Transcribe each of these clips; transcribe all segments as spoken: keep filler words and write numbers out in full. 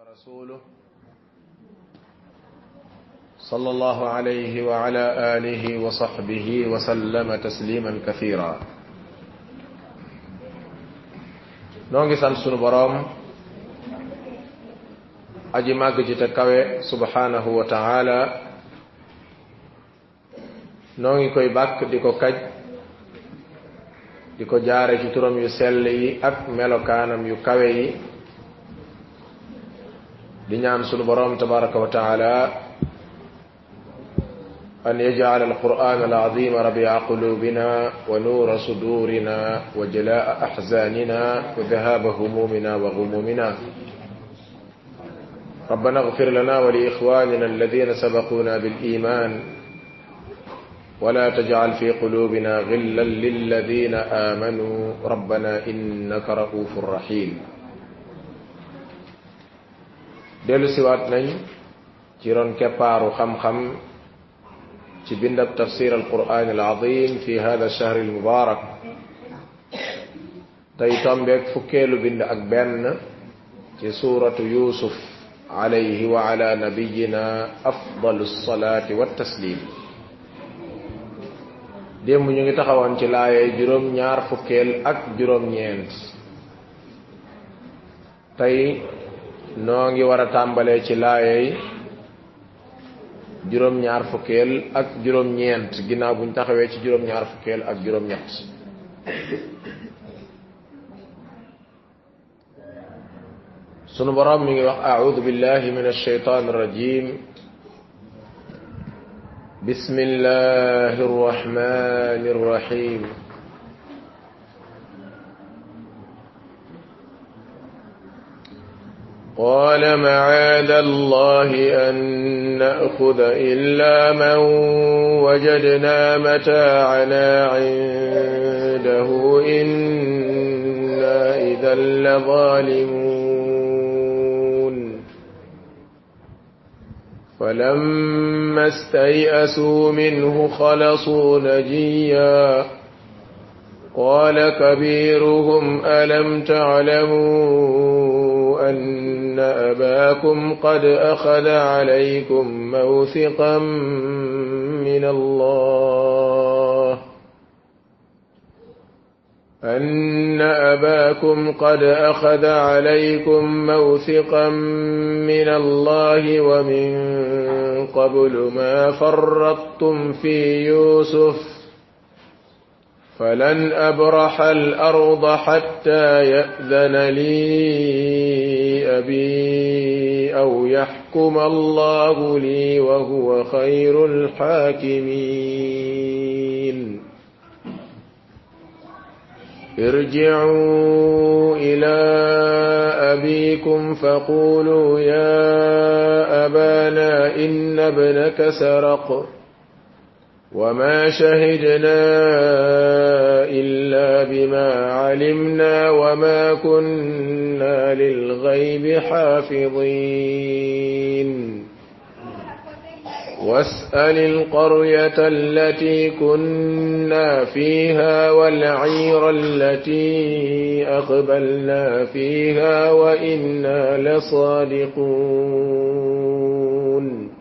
ورسوله صلى الله عليه وعلى آله وصحبه وسلم تسليما كثيرا. نونغي سان سونو بروم aji mag ji te kawe subhanahu wa ta'ala nongi koy bak diko kaj diko jaare ci turam yu sell yi ak melokanam yu kawe yi di ñaan sunu borom tabaraka wa ta'ala an yaj'al al-Qur'an al-'azim rabi'a qulubina wa nura sudurina wa jalaa'a ahzanina wa dhahaba humumina wa ghumumina. ربنا اغفر لنا ولإخواننا الذين سبقونا بالإيمان ولا تجعل في قلوبنا غلا للذين آمنوا ربنا إنك رؤوف رحيم. دلو سوات نين جيرون كبارو خم خم تبندب تفسير القرآن العظيم في هذا الشهر المبارك تيتم بك فكيلو بند أكبرن في سورة يوسف عليه وعلى نبينا أفضل الصلاة والتسليم. ديم ñu ngi taxawon ci laaye juroom ñaar fukkel ak juroom ñent tay no ngi wara tambale ci laaye juroom ñaar fukkel ak juroom ñent ginaaw buñ taxawé ci juroom ñaar fukkel ak juroom ñett. sunu borom mi ngi wax a'udhu billahi minash shaitanir rajim bismillahir rahmanir rahim قال معاذ الله أن نأخذ إلا من وجدنا متاعنا عنده إنا إذا لظالمون. فلما استيئسوا منه خلصوا نجيا قال كبيرهم ألم تعلموا أن أباكم قد أخذ عليكم موثقا من الله أن أباكم قد أخذ عليكم موثقا من الله ومن قبل ما فرطتم في يوسف فلن أبرح الأرض حتى يأذن لي أبي أو يحكم الله لي وهو خير الحاكمين. ارجعوا إلى أبيكم فقولوا يا أبانا إن ابنك سرق وما شهدنا إلا بما علمنا وما كنا للغيب حافظين. واسأل القرية التي كنا فيها والعير التي أقبلنا فيها وإنا لصادقون.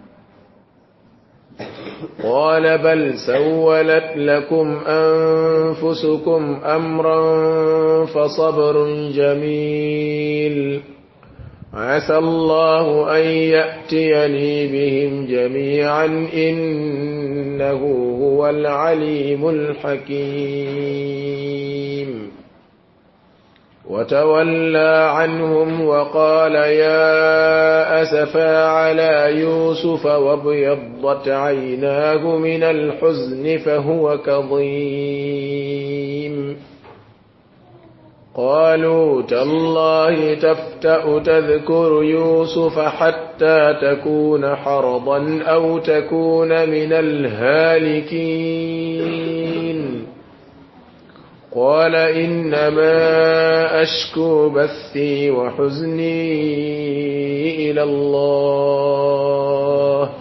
قال بل سولت لكم أنفسكم أمرا فصبر جميل عسى الله أن يأتيني بهم جميعا إنه هو العليم الحكيم. وتولى عنهم وقال يا أسفا على يوسف وابيضت عيناه من الحزن فهو كظيم. قالوا تالله تفتأ تذكر يوسف حتى تكون حرضا أو تكون من الهالكين. قال إنما أشكو بثي وحزني إلى الله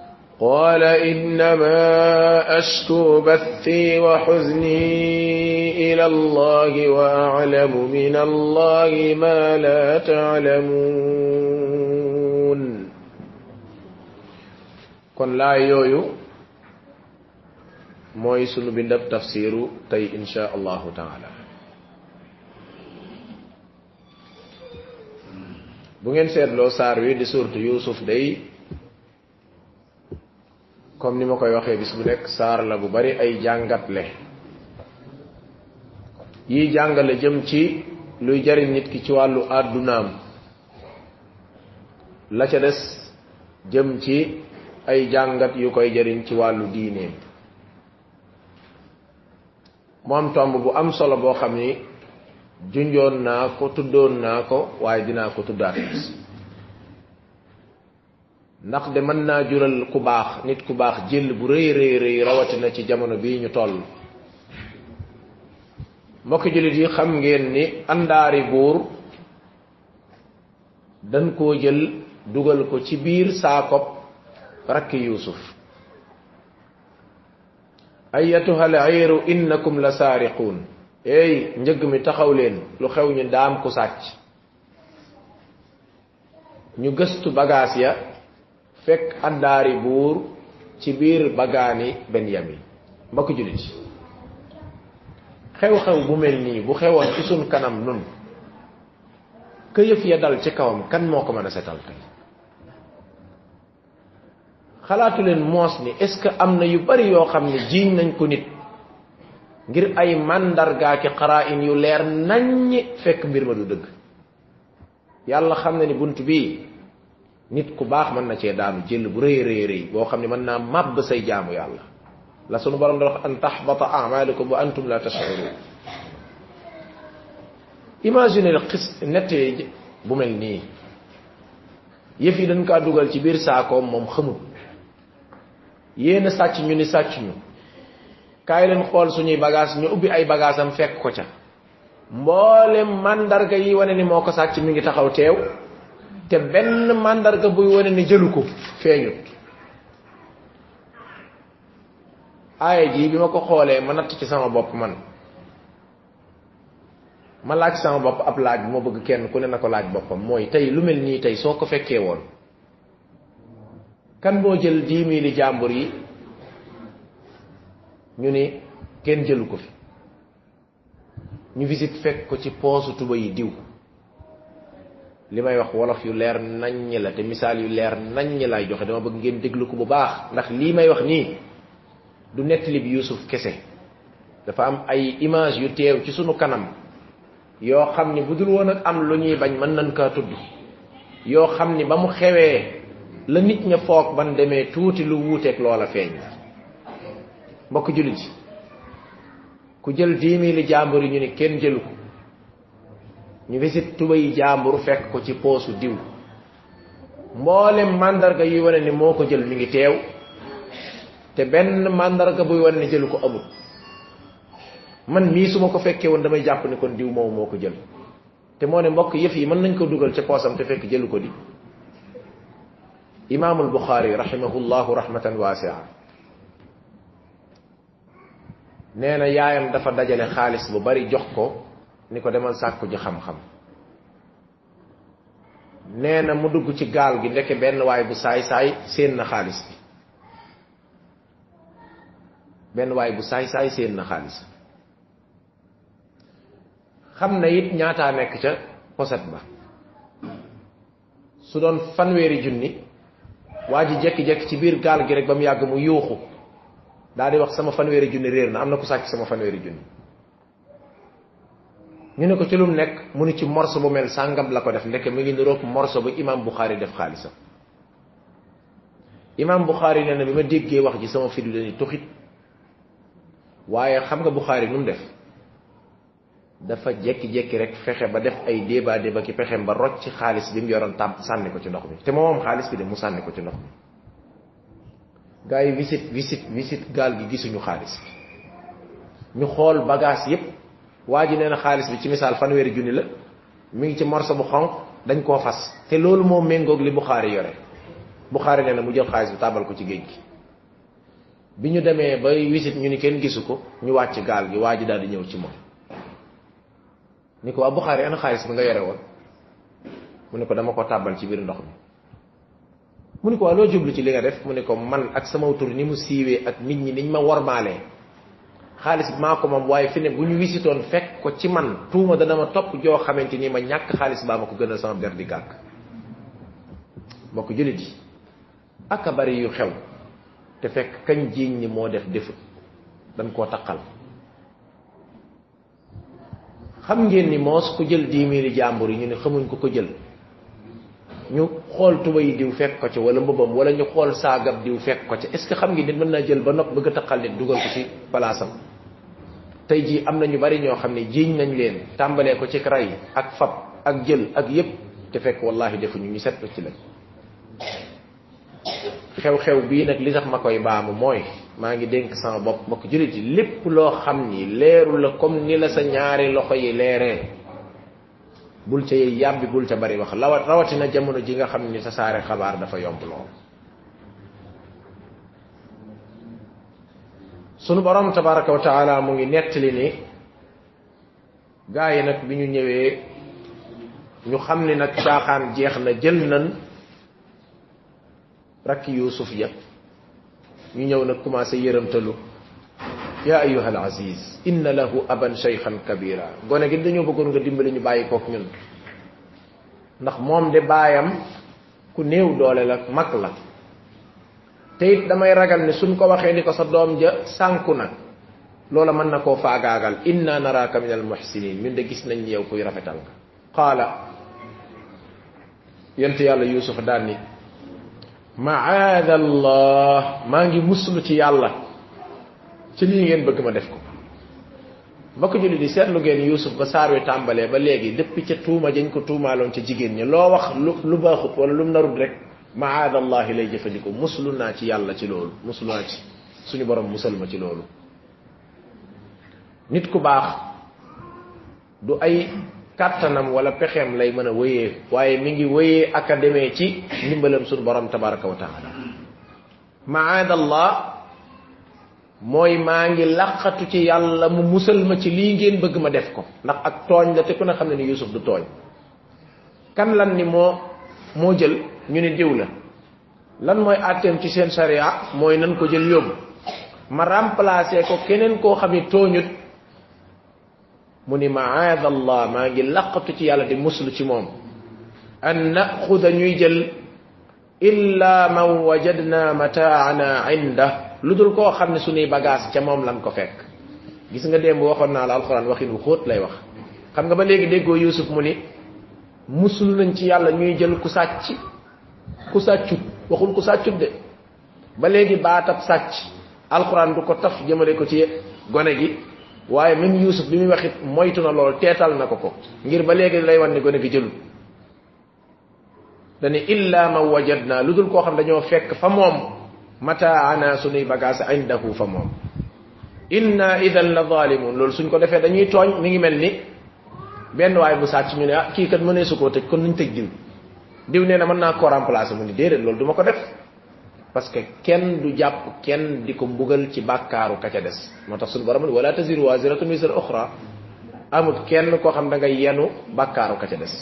قال إنما أشكو بثي وحزني إلى الله وأعلم من الله ما لا تعلمون kon laa yooyu mooy sunu bindab tafsiru tey insha allahu taala bu ngeen seetloo saar wi di suurtu Yuusuf day comme ni ma koy waxee bis bu nekk saar la bu bari ay jàngatle yi jàngale jëm ci luy jariñ nit ki ci wàllu àddunaam la ca des jëm ci ay jàngat yu koy jariñ ci wàllu diineem mu am tomb bu am solo boo xam ni junjoon naa ko tuddoon naa ko waaye dinaa ko tuddaat ndax de mën naa jural ku baax nit ku baax jël bu rëy rëy rëy rawatina ci jamono bii ñu toll mbokki jullit yi xam ngeen ni àndaari buur dañ koo jël dugal ko ci biir saakop rakki Yuusuf ayyatuha al-ayru innakum la saariquun ey njëg mi taxaw leen lu xew ñu daam ku sàcc ñu gëstu bagaas ya fekk àndaari buur ci biir bagaani Benyamin mbokk jullit xew-xew bu mel nii bu xewoon ci sun kanam nun këyëf ya dal ci kawam kan moo ko mën a setal tey xalaatu leen moos ni est-ce que am na yu bari yoo xam ne jiiñ nañ ko nit ngir ay màndargaa ki xaraa'in yu leer naññ fekk mbir ma du dëgg yàlla xam na ni bunt bii nit ku baax mën na cee daanu jël bu rëy rëy rëy boo xam ne mën naa màbb say jaamu yàlla la sunu borom da wax an tahbata a'malukum wa antum la tash'urun imagine xis nettee bu mel nii yëf yi dañ kaa dugal ci biir saakoom moom xamul yéen a sàcc ñu ni sàcc ñu kaay leen xool suñuy bagage ñu ubbi ay bagage am fekk ko ca mboolem mandarga yi wane ni moo ko sàcc mi ngi taxaw teew te benn mandarga buy wane ni jëlu ko feeñut aaya ji bi ma ko xoolee ma natt ci sama bopp man ma laaj sama bopp ab laaj bu ma bëgg kenn ku ne na ko laaj boppam mooy tey lu mel nii tey soo ko fekkee woon kan boo jël dix mille jàmbur yi ñu ni kenn jëlu ko fi ñu visite fekk ko ci poosu tuba yi diw li may wax wolof yu leer naññ la te misaal yu leer naññ lay joxe dama bëgg ngeen déglu ko bu baax ndax lii may wax nii du nettali bi Yuusuf kese dafa am ay image yu teew ci sunu kanam yoo xam ni bu dul woon ak am lu ñuy bañ mën nañ kaa tudd yoo xam ni ba mu xewee la nit ña foog ban demee tuuti lu wuuteeg loola feeñ mbokk jullit yi ku jël dix mille jàmbur yi ñu ni kenn jëlu ko ñu visite tuba yi jàmbur fekk ko ci poosu diw mboolem mandarga yuy wane ni moo ko jël mi ngi teew te benn mandarga buy wane ni jëlu ko amul man mii su ma ko fekkee woon damay jàpp ni kon diw moom moo ko jël te moo ne mbokk yëf yi mën nañ ko dugal ca poosam te fekk jëlu ko di imaamul Buxaari rahimahullahu rahmatan waasi'a nee na yaayam dafa dajale xaalis bu bari jox ko ni ko demal sàkku ji xam-xam nee na mu dugg ci gaal gi ndeke benn waay bu saay-saay séen na xaalis bi benn waay bu saay-saay séen na xaalis xam na it ñaataa nekk ca poset ba su doon fanweeri junni waa ji jekki-jekki ci biir gaal gi rek ba mu yàgg mu yuuxu daal di wax sama fanweeri junni réer na am na ku sàcc sama fanweeri junni ñu ne ko ci lu mu nekk mu ni ci morso bu mel sàngam la ko def ndeke mi ngi niroog morso bu imam Bukhari def xaalisam imam Bukhari nee na bi ma déggee wax ji sama fidu dañuy tuxit waaye xam nga Bukhari nu mu def dafa jekki-jekki rek fexe ba def ay débat débat ki pexem ba rocc ci xaalis bi mu yoroon tàmp sànni ko ci ndox mi te moom xaalis bi de mu sànni ko ci ndox mi gaa yi visite visite visite gaal gi gisuñu xaalis bi ñu xool bagage yépp waa ji nee na xaalis bi ci misaal fanweeri junni la mi ngi ci morso bu xonq dañ koo fas te loolu moo méngoog li Bukhari yore Bukhari nee na mu jël xaalis bi tàbbal ko ci géej gi bi ñu demee bay visite ñu ni kenn gisu ko ñu wàcc gaal gi waa ji daal di ñëw ci moom ni ko waa Buxaari ana xaalis bi nga yore woon mu ne ko dama ko tàbbal ci biir ndox mi mu ne ko waa loo jublu ci li nga def mu ne ko man ak sama tur ni mu siiwee ak nit ñi niñ ma wormaalee xaalis bi maa ko moom waaye fi ne bu ñu wisitoon fekk ko ci man tuuma dana ma topp joo xamante ni ma ñàkk xaalis baa ma ko gënal sama der di gàkk mbokk jullit yi aka bari yu xew te fekk kañ jiiñ ni moo def defut dañ koo taqal xam ngeen ni moos ku jël dix mille jàmbur yi ñu ne xamuñ ko ko jël ñu xool tuba yi diw fekk ko ci wala mbubam wala ñu xool saagab diw fekk ko ci est ce que xam ngeen nit mën naa jël ba nopp bëgg a taqal nit dugal ko ci palaasam tey jii am na ñu bari ñoo xam ne jiiñ nañ leen tàmbalee ko ci ray ak fab ak jël ak yépp te fekk wallahi defuñu ñu set ci lañ xew-xew bii nag li tax ma koy baamu mooy maa ngi dénk sama bopp mbokk jullit yi lépp loo xam ni leeru la comme ni la sa ñaari loxo yi leeree bul ca yey yàbbi bul ca bari wax lawat rawatina jamono ji nga xam ni sa saare xabaar dafa yomb lool sunu borom tabaraka wa taala mu ngi nettali ni gaa yi nag bi ñu ñëwee ñu xam ni nag caaxaan jeex na jël nan rakki Yuusuf ya ñu ñëw nag commencé yërëmtalu ya ayyuha al aziz inna lahu aban shaykhan kabira gone gi dañoo bëggoon nga dimbali ñu bàyyi kook ñun ndax moom de baayam ku néew doole la mag la te it damay ragal ne suñ ko waxee ni ko sa doom ja sànku na loola mën na koo faagaagal inna naraka min al muhsinin ñun de gis nañ ni yow kuy rafetal nga qaala yent yàlla Yuusuf daan ni maada allah maa ngi muslu ci yàlla ci lii ngeen bëgg ma def ko mbokk julli di seetlu ngeen Yuusuf ba saar wi tàmbalee ba léegi depuis ca tuuma jañ ko tuumaaloon ca jigéen ñi loo wax lu lu baaxut wala lu mu narut rek maada allahi lay jëfandikoo muslu naa ci yàlla ci loolu muslu naa ci suñu borom musal ma ci loolu nit ku baax du ay kàttanam wala pexeem lay mën a wéyee waaye mi ngi wéyee ak a demee ci ndimbalam suñu borom tabaraka wa taala maadallah mooy maa ngi laqatu ci yàlla mu musal ma ci lii ngeen bëgg ma def ko ndax ak tooñ la te ku ne xam ne ni Yuusuf du tooñ kan lan ni moo moo jël ñu ne diw la lan mooy àtteem ci seen sharia mooy nan ko jël yóbbu ma remplacer ko keneen koo xam ne tooñut mu ni maadallah maa ngi laqatu ci yàlla di muslu ci moom an naxuda ñuy jël illa man wajadna mataana inda lu dul koo xam ne suñuy bagage ca moom lan ko fekk gis nga démb waxoon naa la alxuraan waxin wu xóot lay wax xam nga ba léegi déggoo Yuusuf mu ni muslu nañ ci yàlla ñuy jël ku sàcc ku sàccut waxul ku sàccut de ba léegi baatab sàcc alxuraan du ko taf jëmale ko ci gone gi waaye même Yuusuf bi muy waxit moytu na lool teetal na ko ko ngir ba léegi lay wan ne gone gi jëlul dani illa man wajadna lu dul koo xam dañoo fekk fa moom mataana suñuy bagage indahu fa moom inna idan la zalimun loolu suñ ko defee dañuy tooñ mi ngi mel ni benn waay bu sàcc ñu ne ah kii kat mënee su koo tëj kon nuñ tëj diw diw nee na mën naa koo remplacer mu ni déedéet loolu du ma ko def parce que kenn du jàpp kenn di ko mbugal ci bàkkaaru ka ca des moo tax suñu borom ni wala taziru waziratun wizra ukhra amut kenn koo xam da ngay yenu bàkkaaru ka ca des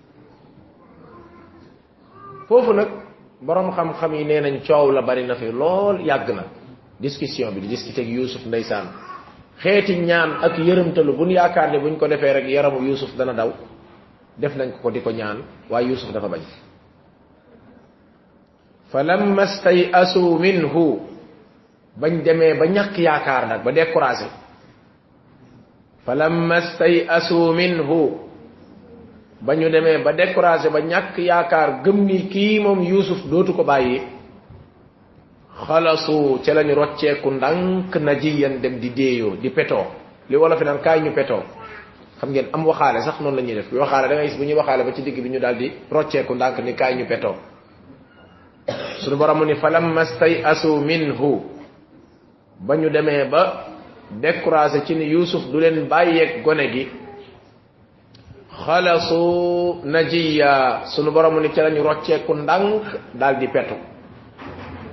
foofu nag borom xam-xam yi nee nañ coow la bari na fi lool yàgg na discussion bi di discuter ak Yuusuf ndeysaan xeeti ñaan ak yërëmtalu buñ yaakaar ne buñ ko defee rek yaramu Yuusuf dana daw def nañ ko ko di ko ñaan waaye Yuusuf dafa bañ falamma stayasu minhu bañ demee ba ñàkk yaakaar nag ba découragé falamma stayasu minhu ba ñu demee ba découragé ba ñàkk yaakaar gëm ni kii moom Yuusuf dootu ko bàyyi xalasu ca lañu rocceeku ndànk najiyan dem di déeyoo di petoo li wala fi naan kaay ñu petoo xam ngeen am waxaale sax noonu la ñuy def waxaale da ngay gis bu ñuy waxaale ba ci digg bi ñu daal di rocceeku ndànk ni kaay ñu petoo suñu borom ni falamma stayasu minhu ba ñu demee ba découragé ci ni Yuusuf du leen bàyyeeg gone gi xalasu najiya sunu borom ni ca lañu rocceeku ndànk daal di petu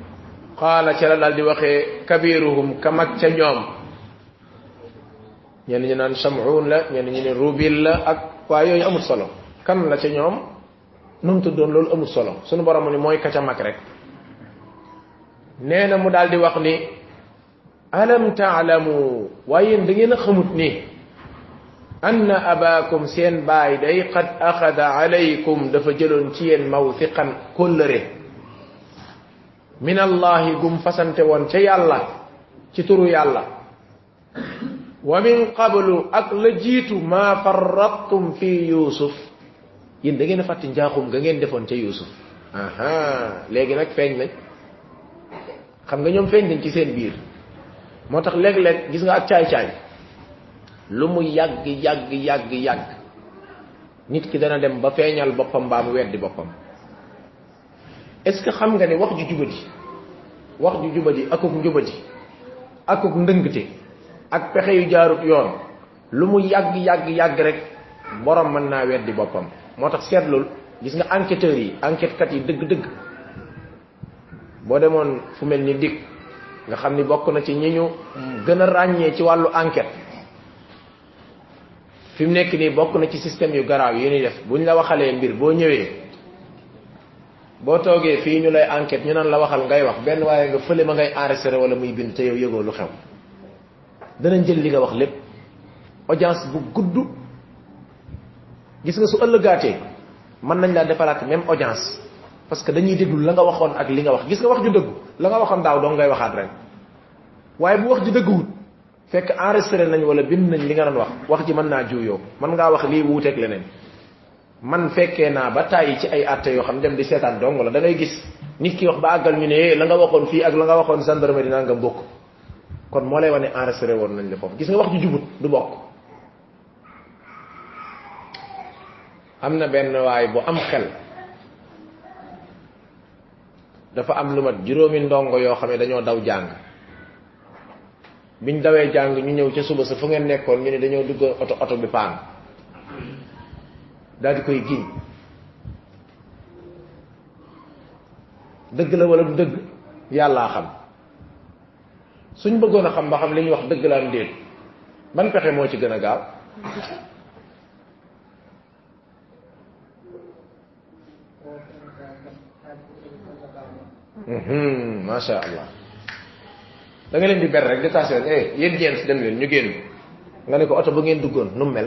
qaala ca la daal di waxee kabiruhum ka mag ca ñoom ñen ñi naan Sam'un la ñen ñi ne Rubil la ak wa yoy amul solo kan la ci ñom num tuddoon loolu amul solo sunu borom ni moy ka ca mak rek neena mu daldi wax ni alam ta'lamu wa yeen da ngeen xamut ni anna abakum sen bay day qad akhadha alaykum dafa jëlon ci yeen mawthiqan kullare min allah gum fasante won ci yalla ci turu yalla wa min qablu ak la jitu ma farrattum fi yusuf yeen da ngeen fatti njaxum nga ngeen defon ci yusuf aha legi nak feñ nañ xam nga ñom feñ nañ ci seen biir motax leg leg gis nga ak caay caay lu mu yag yag yag yag nit ki dana dem ba feñal bopam ba mu weddi bopam est ce que xam nga ni wax ju jubadi wax ju jubadi akuk njubadi akuk ndeungte ak pexé yu jaarut yoon lu mu yag yag yag rek borom man na weddi bopam motax setlul gis nga enquêteur yi enquête kat yi deug deug bo demone fu melni dik nga xamni bokku na ci ñiñu gëna ragné ci walu enquête fim nek ni bokku na ci système yu graw yi ni def buñ la waxalé mbir bo ñëwé bo togué fi ñu lay enquête ñu nan la waxal ngay wax ben waye nga feulé ma ngay enregistrer wala muy bind te yow yego lu xew danañ jël li nga wax lepp audience bu gudd gis nga su ëllëgaté man nañ la défalat même audience parce que dañuy déglu la nga waxon ak li nga wax gis nga wax ju dëgg la nga waxon daaw do ngay waxat rek waye bu wax ju dëgguwut fekk enregistrer nañ wala bind nañ li nga doon wax wax ji man na juuyo man nga wax li wuutek leneen man fekke na ba tay ci ay atté yo xam dem di sétane dong la da ngay gis nit ki wax ba agal ñu né la nga waxon fi ak la nga waxon gendarmerie na nga bokk kon mo lay wone enregistrer won nañ la fofu gis nga wax ju jubut du bokk amna ben way bu am xel dafa am lu mat juroomi ndongo yo xamé dañoo daw jang biñ dawé jang ñu ñëw ci suba sa fu ngeen nekkon ñu ne dañoo dugg auto auto bi paan dal di koy giñ deug la wala du deug yalla xam suñ bëggoon xam ba xam li ñu wax deug la am deet ban pexé mo ci gëna gaaw mhm ma sha Allah da nga leen di ber rek détaché rek eh yeen jent dem leen ñu genn nga ne ko auto bu ngeen duggoon nu mel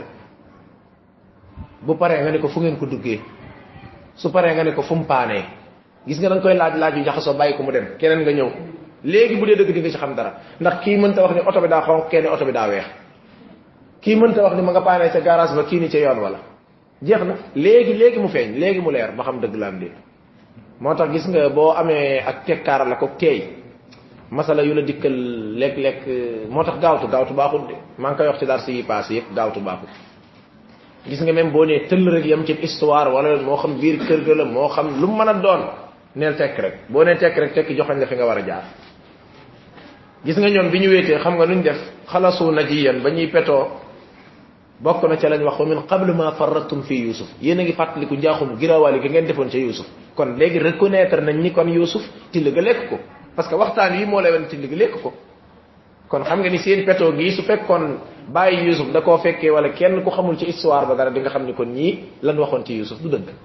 bu paré nga ne ko fu ngeen ko duggé su paré nga ne ko fu mu pané gis nga dang koy laaj laaj yu jaxaso bayiko mu dem keneen nga ñew légui bu dé dëgg di nga ci xam dara ndax ki mënta wax ni auto bi da xonk kenn auto bi da wéx ki mënta wax ni ma nga pané ci garage ba ki ni ci yoon wala jeexna légui légui mu feñ légui mu leer ba xam dëgg la am dé motax gis nga bo amé ak tekkar la ko tey masala yu la dikkel lek lek motax gaawtu gaawtu baaxul de man koy wax ci dar ci passé yépp gaawtu baaxul gis nga même bo né teul rek yam ci histoire wala mo xam biir kër ga la mo xam lu mëna doon neel tek rek bo né tek rek tek joxañ la fi nga wara jaar gis nga ñoom biñu wété xam nga nuñ def khalasu najiyan bañuy péto bokk na ci lañ wax min qabl ma farratum fi yusuf yéena ngi fatlikou njaxum girawali ga ngeen defon ci yusuf kon légui reconnaître nañ ni kon yusuf til ga lek ko parce que waxtaan yi mo lay wone til ga lek ko kon xam nga ni seen péto gi su fekkon baye yusuf da ko fekke wala kenn ku xamul ci histoire ba dara di nga xam ni kon ñi lan waxon ci yusuf du deug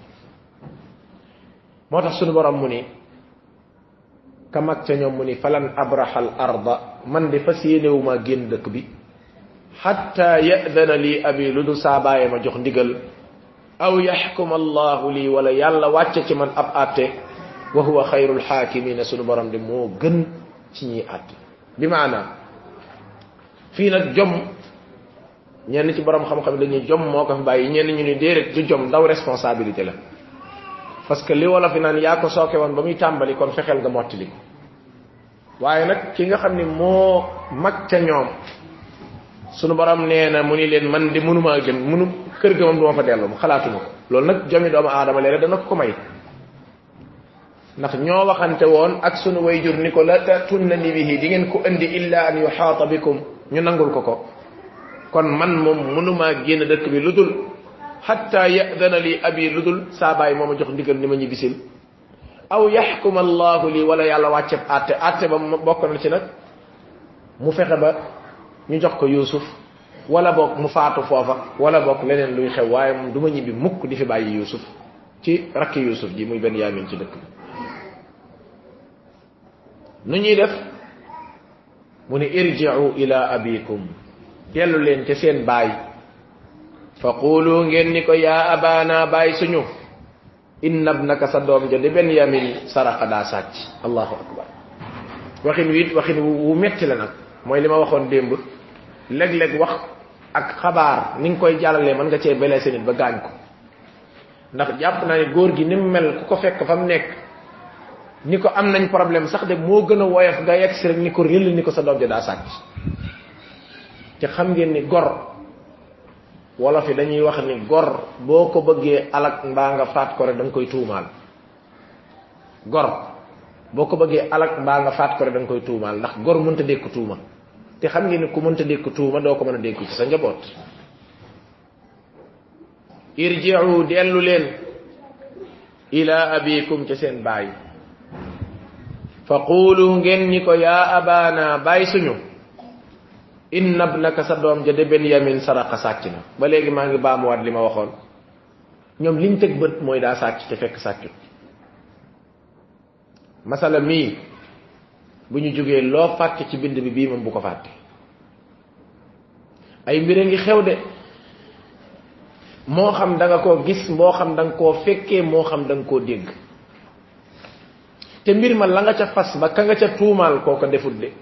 motax sunu borom mu ni kamak ca ñom mu ni falan abrahal arda man di fasiyewuma genn dekk bi hatta ya'dana li abi ludu sabaye ma jox ndigal aw yahkum allah li wala yalla wacce ci man ab atte wa huwa khairul hakimin sunu borom di mo gën ci ñi atte bi maana fi nak jom ñen ci borom xam xam dañuy jom moko fi bayyi ñen ñu ni déret du jom daw responsabilité la parce que li wala fi nan ya ko soké won bamuy tambali kon fexel nga motali waye nak ki nga xamni mo mak ca ñom sunu borom neena muni len man di munuma gën munu kër ga mom duma fa delu xalaatuma ko lool nak jomi doomu adama lele dana ko may ndax ño waxante won ak sunu wayjur niko la tatunni bihi di ngeen ko andi illa an yuhata bikum ñu nangul ko ko kon man mom munuma génn dëkk bi ludul hatta ya'dana li abi ludul sa bay moma jox ndigal ni ma ñibisil aw yahkum allah li wala yalla wacce atte atte ba bokk na ci nak mu fexé ba ñu jox ko yusuf wala bok mu faatu fofa wala bok leneen luy xew waye mom duma ñibi mukk di fi bayyi yusuf ci rakki yusuf ji muy ben yamin ci dëkk nu ñuy def mu ne irji'u ila abikum delu leen ci seen baay faqulu ngeen ni ko ya abana baay suñu inna ibnaka sadom ja de ben yamin saraka da sacc allahu akbar waxin wi waxin wu metti la nak moy lima waxon demb leg leg wax ak xabar ni nga koy jallale man nga ci blessé nit ba gañ ko ndax japp na ni goor gi nim mel ku ko fekk fam nek niko am nañ problème sax de mo gëna woyof ga yex rek niko rel niko sa doom ja da sacc ci xam ngeen ni gor wala fi dañuy wax ni gor boko bëgge alak mba nga faat ko rek dang koy tuumal gor boko bëgge alak mba nga faat ko rek dang koy tuumal ndax gor mënta dekk tuuma te xam ngeen ni ku mënta dekk tuuma do ko mëna dekk ci sa njabot irji'u delu len ila abikum ci sen baay faqulu ngeen ni ko ya abana baay suñu inna ibnaka sadom ja de ben yamin saraka saccina ba legi ma ngi baamu wat lima waxon ñom liñ tek beut moy da sacc te fekk saccu masala mi buñu joggé lo fatte ci bind bi bi mom bu ko fatte ay mbire ngi xew de mo xam da nga ko gis mo xam da nga ko fekke mo xam da nga ko deg te mbir ma la nga ca fas ba ka nga ca tuumal koko defut de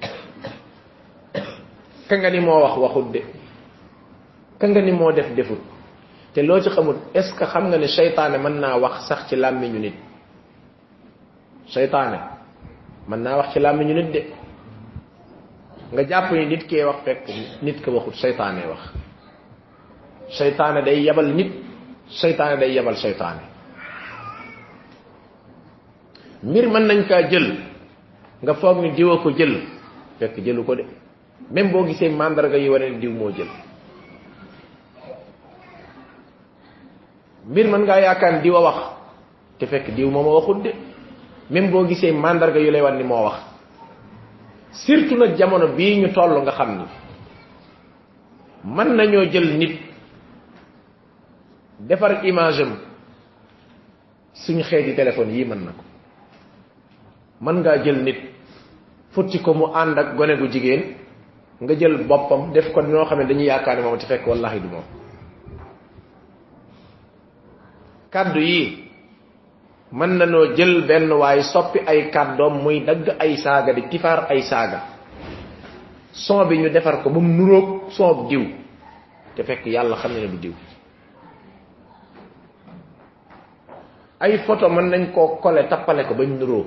ka nga ni mo wax waxut de ka nga ni mo def defut te lo ci xamul est ce que xam nga ni shaytané man na wax sax ci lamiñu nit shaytané man na wax ci lamiñu nit de nga japp ni nit ke wax fek nit ke waxut shaytané wax shaytané day yabal nit shaytané day yabal shaytané mbir man nañ ka jël nga fogg ni diwa ko jël fek jëlu ko de même bo gisé mandarga yi wone diw mo jël mbir man nga yaakaar diwa wax te fek diw moma waxut de même bo gisé mandarga yu lay wan ni mo wax surtout nak jamono bi ñu tollu nga xamni man nañu jël nit defar image am suñu xéeti téléphone yi man nako man nga jël nit futti ko mu and ak gone gu jigen nga jël bopam def ko ñoo xamne dañuy yaakaane mom ci fekk wallahi du mom kaddu yi man nañu jël ben way soppi ay kaddom muy dag ay saga di tifar ay saga son bi ñu defar ko bu mu nurok son diw te fekk yalla xamne du diw ay photo man nañ ko coller tapalé ko bañ nuro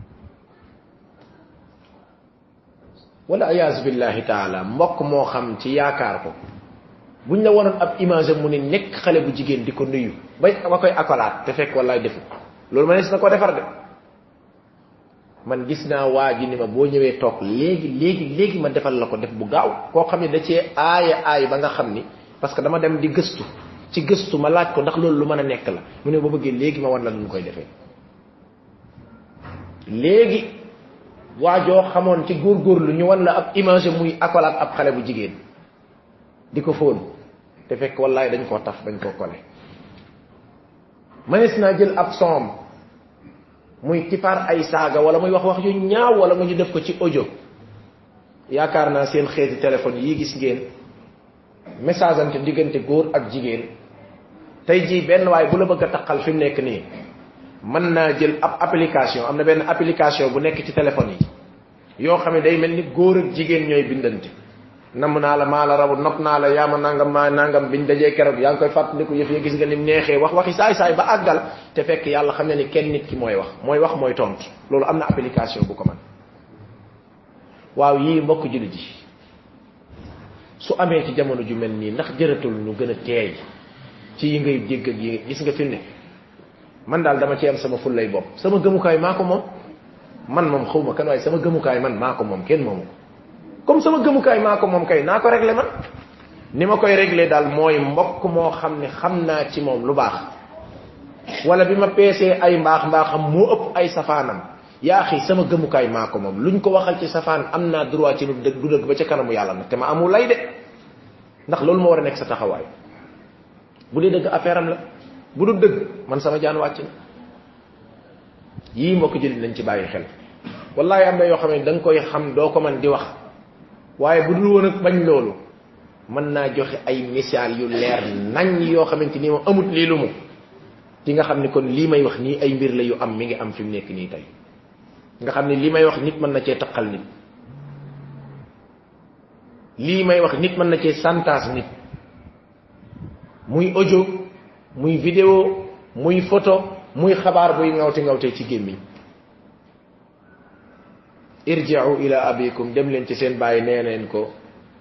wala ayaz billahi ta'ala mbokk mo xam ci yaakar ko buñ la wonon ab image mu ni nek xalé bu jigen diko nuyu bay wakoy akolat te fekk wallahi defu lolou manes nako defar de man gis na waji ni ma bo ñewé tok legi legi legi ma defal lako def bu gaaw ko xamni da ci aya ay ba nga xamni parce que dama dem di geustu ci geustu ma laaj ko ndax lolou lu mëna nek la mu ne bo bëgge legi ma wan la lu koy defé legi wajo xamone ci gor gor lu ñu wan la ab image muy akolat ab xalé bu jigen diko fon te fekk wallahi dañ ko taf dañ ko kolé manes na jël ab som muy tifar ay saga wala muy wax wax yu ñaaw wala mu ñu def ko ci audio yaakar na seen xéeti téléphone yi gis ngeen message ante digënté gor ak jigen tay ji ben way bu la bëgg taxal fi nek ni man na jël ab application amna ben application bu nek ci téléphone yi yo xamé day melni goor ak jigen ñoy bindante nam na la mala rabu nop na la yama nangam ma nangam biñ dajé kérok yang koy fatlikou yef ya gis nga nim nexé wax waxi say say ba agal te fekk yalla xamné ni kenn nit ki moy wax moy wax moy tontu lolu amna application bu ko man waaw yi mbokk julli ji su amé ci jamono ju melni ndax jëratul ñu gëna téy ci yi ngay dégg ak yi gis nga fi ne man dal dama ci am sama fulay bop sama gëmukaay mako mom man mom xawma kan way sama gëmukaay man mako mom kenn momu comme sama gëmukaay mako mom kay nako régler man nima koy régler dal moy mbokk mo xamni xamna ci mom lu bax wala bima pc ay mbax mbaxam mo ëpp ay safanam ya xi sama gëmukaay mako mom luñ ko waxal ci safan amna droit ci lu deug du deug ba ci kanamu yalla nak te ma amul lay de ndax loolu moo war a nekk sa taxawaay. bu dee dëgg affaire am la, bu dul dëgg man sama jaan wàcc na. yii mbokk jullit nañ ci bàyyi xel. wallahi am na yoo xam ne da nga koy xam doo ko man di wax, waaye bu dul woon ak bañ loolu mën naa joxe ay misaal yu leer nañ yoo xamante ni moom amut lii lu mu di nga xam ni kon lii may wax nii ay mbir la yu am mi ngi am fi mu nekk nii tey. nga xam ne lii may wax nit mën na cee taqal nit, lii may wax nit mën na cee santaas nit, muy audio muy vidéo muy photo muy xabaar buy ngawte ngawte ci gémmiñ. irji'u ila abikum, dem leen ci seen bàyyi nee neen ko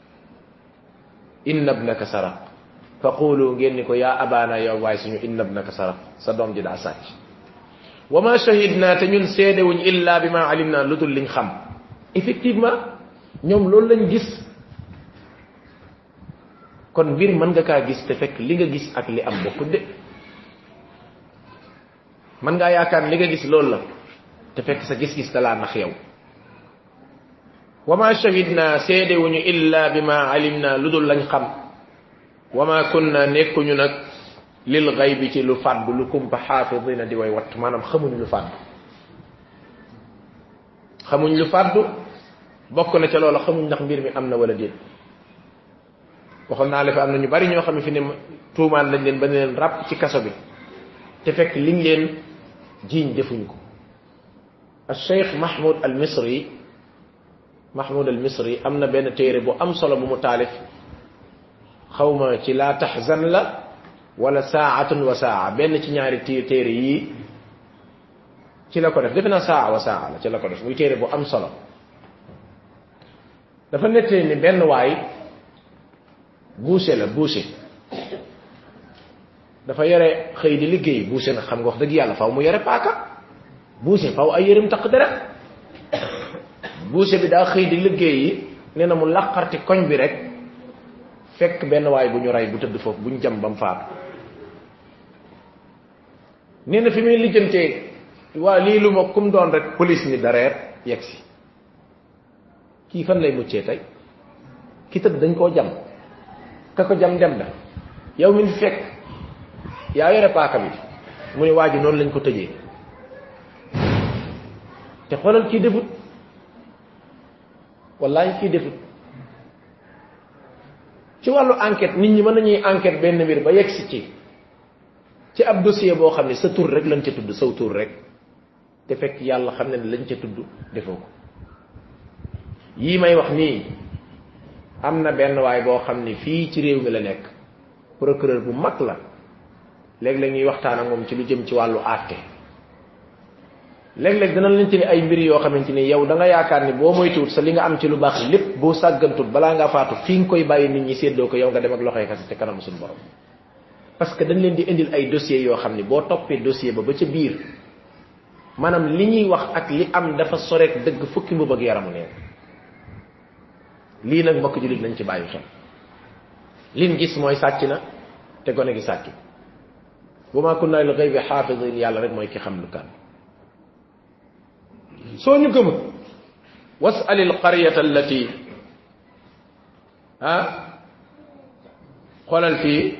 inna ibnaka saraq fa qulu ngeen ni ko yaa abana yow waay suñu inna ibnaka saraq, sa doom ji daa sàcc. wa ma shahidna, te ñun seedewuñ illa bi ma alimna, lu dul liñ xam. effectivement ñoom loolu lañ gis. kon mbir mën nga kaa gis te fekk li nga gis ak li am bokkut de. mën ngaa yaakaar li nga gis loolu la te fekk sa gis-gis da laa nax yow. wa ma shahidna, seedewuñu illa bi ma alimna, lu dul lañ xam. wa ma kunna, nekkuñu nag lil ghaybi ci lu fàddu, lu kumpa xaafidina di way watt, maanaam xamuñ lu fàddu. xamuñ lu fàddu bokk na ca loola xamuñ ndax mbir mi am na wala déet. waxoon naa la fi am na ñu bari ñoo xam ne fi ne tuumaan lañ leen ba ne leen ràpp ci kaso bi te fekk liñ leen jiiñ defuñ ko. al cheikh mahmoud al misri mahmoud al misri am na benn téere bu am solo bu mu taalif, xawma ci laa taxzan la wala saatun wa saa, benn ci ñaari téere yii ci la ko def, defe naa saa wa saa la ci la ko def, muy téere bu am solo. dafa nettee ni benn waay boucher la boucher dafa yore xëy di liggéey. boucher nag xam nga wax dëgg yàlla faw mu yore paaka, boucher faw ay yërëm taq dara. boucher bi daa xëy di liggéey yi, nee na mu laqarti koñ bi rek fekk benn waay bu ñu rey bu tëdd foofu, bu ñu jam ba mu faatu. nee na fi muy lijjantee waa lii lu ma kum doon rek police ni dareer yegg si. kii fan lay muccee tey? ki tëdd dañ koo jam, ka ko jam dem na, yow mi fi fekk yaa yore paaka bi. mu ne waa ji noonu lañ ko tëjee. te xoolal kii defut, wallahi kii defut. ci wàllu enquête nit ñi mën nañuy enquête benn mbir ba yegg si ci ci ab dossier boo xam ne sa tur rek lañ ca tudd, saw tur rek, te fekk yàlla xam ne ne lañ ca tudd defoo ko. yii may wax nii am na benn waay boo xam ne fii ci réew mi la nekk, procureur bu mag la, léeg-léeg ñuy waxtaan ak moom ci lu jëm ci wàllu àtte. léeg-léeg dana lañ ci ni ay mbir yoo xamante ni yow da nga yaakaar ni boo moytuwut sa li nga am ci lu baax lépp boo sàggantut balaa ngaa faatu fi nga koy bàyyi nit ñi séddoo ko, yow nga dem ak loxoy kase te kanam suñu borom. parce que dañ leen di indil ay dossiers yoo xam ni boo toppee dossier ba ba ca biir maanaam li ñuy wax ak li am dafa soreek dëgg fukki mbubb ak yaramu neen. lii nag mbokk jullit nañ ci bàyyi xel. liñ gis mooy sàcc na te gone gi sàcc. wa ma kunna lil ghaybi xaafidin, yàlla rek mooy ki xam lu kan. soo ñu gëmut was'al al qaryata allati ah xoolal fii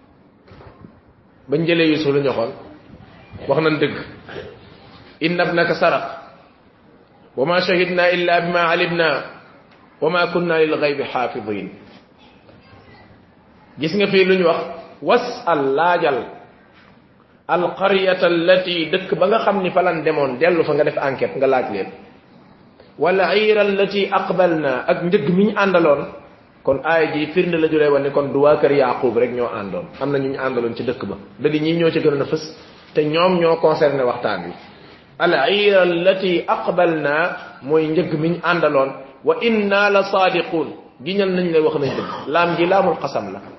bañ jëlee Yuusuf lu ñu xool wax nañ dëgg. inna ibnaka saraq wa ma shahidna illa bima alimna wa ma kunna lil ghaybi xaafidin. gis nga fii lu ñu wax was'al, laajal alqaryata allati, dëkk ba nga xam ni fa lan demoon, dellu fa nga def enquête nga laaj leen. wala ayra allati aqbalna, ak njëgg mi ñu àndaloon. kon aaya ji firnde la julee woon ni kon du waa kër Yaaqub rek ñoo àndoon, am na ñu ñu àndaloon ci dëkk ba, da di ñii ñoo ci gënoon a fës te ñoom ñoo concerné waxtaan wi. al ayra allati aqbalna mooy njëgg mi ñu àndaloon. wa inna la saadiqun, giñal nañ lay wax nañ dëgg. laam gi laamul xasam la,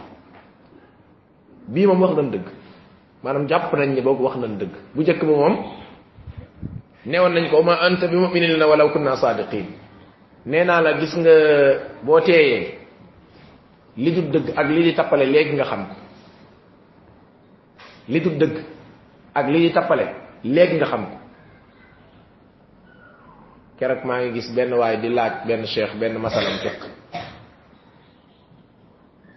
bii moom wax nañ dëgg, maanaam jàpp nañ ni boog wax nañ dëgg. bu njëkk ba moom neewoon nañ ko ma anta bi mu'minin lana walaw kunna saadiqin. nee naa la gis nga boo teeyee li du dëgg ak li di tappale léegi nga xam ko. li du dëgg ak li di tappale léegi nga xam ko. keroog maa ngi gis benn waay di laaj benn cheikh benn masalam fiq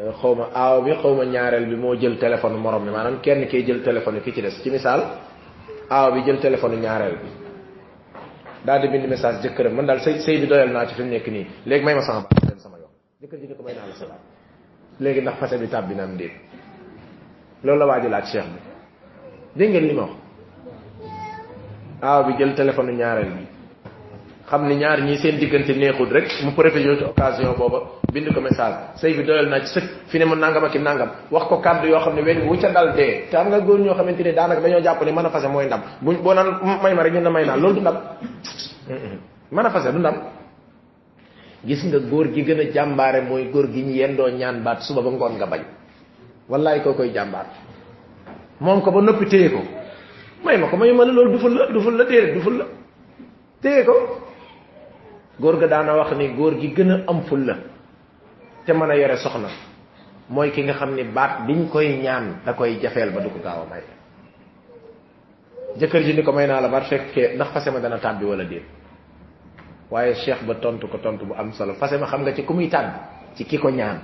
xawma aaw bi xawma ñaareel bi moo jël téléphone morom mi maanaam kenn kee jël téléphone ki ci des ci misaal aaw bi jël téléphone ñaareel bi daal di bind message jëkkëram man daal sëy sëy bi doyal naa ci fi mu nekk nii léegi may ma sama baat dem sama yoon jëkkër ji ni ko may naa la sa baat léegi ndax fase bi tàbbi na am déet loolu la waa ji laaj cheikh bi dégg ngeen li ma wax aaw bi jël téléphone ñaareel bi xam ni ñaar ñii seen diggante neexul rek mu profité ci occasion booba bind ko message sëy bi doyal naa ci sëkk fi ne mu nangam ak i nangam wax ko kàddu yoo xam ne weñ wu ca dal dee te am nga góor ñoo xamante ne daanaka dañoo jàpp ne mën a fase mooy ndam buñ boo naan may ma rek ñu ne may naa loolu du ndam mën a fase du ndam gis nga góor gi gën a jàmbaare mooy góor gi ñu yendoo ñaan baat suba ba ngoon nga bañ wallaay koo koy jàmbaar moom ko ba noppi téye ko may ma ko may ma la loolu duful la duful la déedéet duful la téye ko góor ga daana wax ni góor gi gën a am ful la te mën a yore soxna mooy ki nga xam ni baat biñ koy ñaan da koy jafeel ba du ko gaaw a may jëkkër ji ni ko may naa la baat fekkee ndax fase ma dana tàbbi wala déet waaye cheikh ba tontu ko tontu bu am solo fase ma xam nga ci ku muy tàbbi ci ki ko ñaan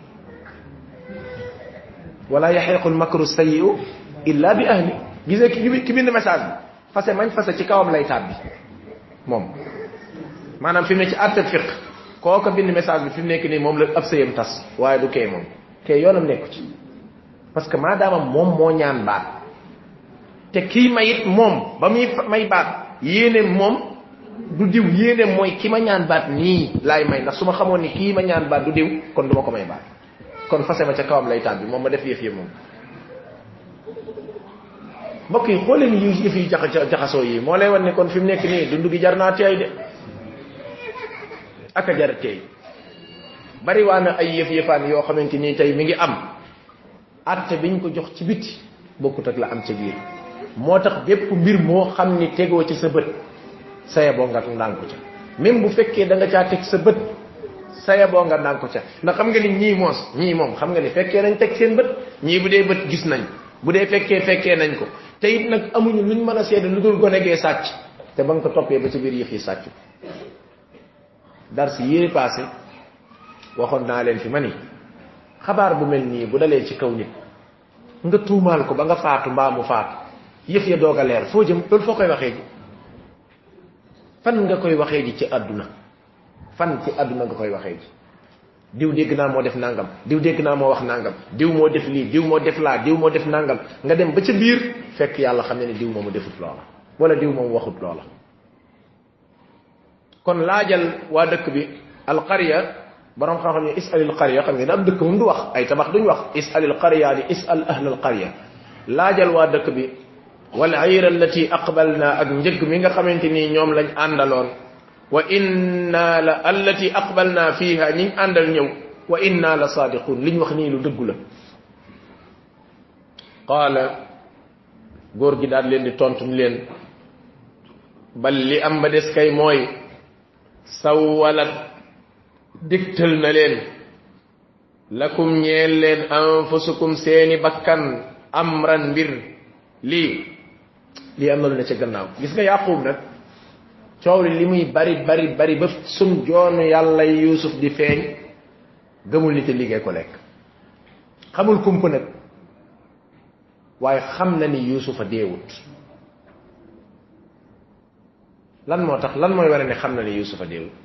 wala yahiqul makru sayyi'u illa bi ahli gisee ki ki bind message bi fase mañ fase ci kawam lay tàbbi moom maanaam fi mu ne ci àtte fiq kooka bind message bi fi mu nekk nii moom la ab sëyam tas waaye du kee moom kee yoonam nekku ci parce que maadaama moom moo ñaan baat te kii mayit moom ba muy may baat yéene moom du diw yéene mooy ki ma ñaan baat nii laay may ndax su ma xamoon ni kii ma ñaan baat du diw kon du ma ko may baat kon fase ma ca kawam lay tàbbi moom ma def yëf yëf moom mbokk yi xoolee ni yu yëf yi jaxa jaxasoo yi moo lay wan ne kon fi mu nekk nii dund gi jar naa teey de aka jar teey bari waa na ay yëf yëfaan yoo xamante nii tey mi ngi am atte biñ ko jox ci biti bokkut ak la am ca biir moo tax bépp mbir moo xam ni tegoo ci sa bët saya boo nga ndànk ko ca même bu fekkee da nga caa teg sa bët saya boo nga ndànk ko ca ndax xam nga ni ñii moos ñii moom xam nga ni fekkee nañ teg seen bët ñii bu dee bët gis nañ bu dee fekkee fekkee nañ ko te it nag amuñu luñ mën a seede lu dul gone gee sàcc te ba nga ko toppee ba ci biir yëf yi sàcc dar si yére passé waxoon naa leen fi ma ni xabaar bu mel nii bu dalee ci kaw nit nga tuumaal ko ba nga faatu mbaa mu faatu yëf ya doog a leer foo jëm loolu foo koy waxee ji fan nga koy waxee ji ci àdduna fan ci àdduna nga koy waxee ji diw dégg naa moo def nangam diw dégg naa moo wax nangam diw moo def lii diw moo def laa diw moo def nangam nga dem ba ca biir fekk yàlla xam ne ne diw moomu defut loola wala diw moom waxut loola kon laajal waa dëkk bi alqarya borom xam-xam ne isalil qarya xam ngeen ab dëkk moom du wax ay tabax duñ wax isalil qarya di isal ahlal qarya laajal waa dëkk bi wal ayra allati aqbalna ak njëg mi nga xamante ni ñoom lañ àndaloon wa inna la allati aqbalna fiha ñi àndal ñëw wa inna la sadiqun liñ wax nii lu dëggu la qaala góor gi daal leen di tontu ni leen bal li am ba des kay mooy sawwalat digtal na leen lakum ñeel leen anfusukum seeni bakkan amran mbir lii lii am na lu ne ca gannaaw gis nga yaqub nag coow li li muy bari bari bari ba sun joonu yàlla yusuf di feeñ gëmul ni te liggéey ko lekk xamul kump nag waaye xam na ni yusuf a deewut lan moo tax lan mooy wara ne xam na ni yusuf a deewut